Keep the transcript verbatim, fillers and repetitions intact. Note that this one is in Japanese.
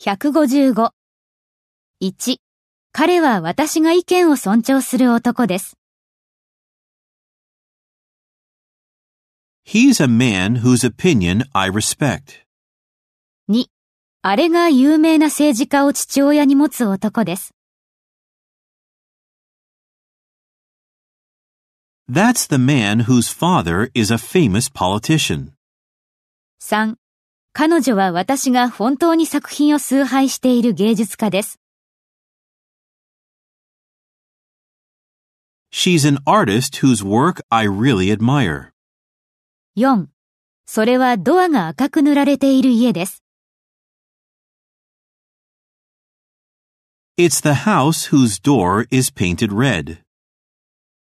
ひゃくごじゅうご。いち、彼は私が意見を尊重する男です。 He's a man whose opinion I respect. に、あれが有名な政治家を父親に持つ男です。 That's the man whose father is a famous politician. さん、彼女は私が本当に作品を崇拝している芸術家です。 She's an artist whose work I really admire. よん、それはドアが赤く塗られている家です。 It's the house whose door is painted red.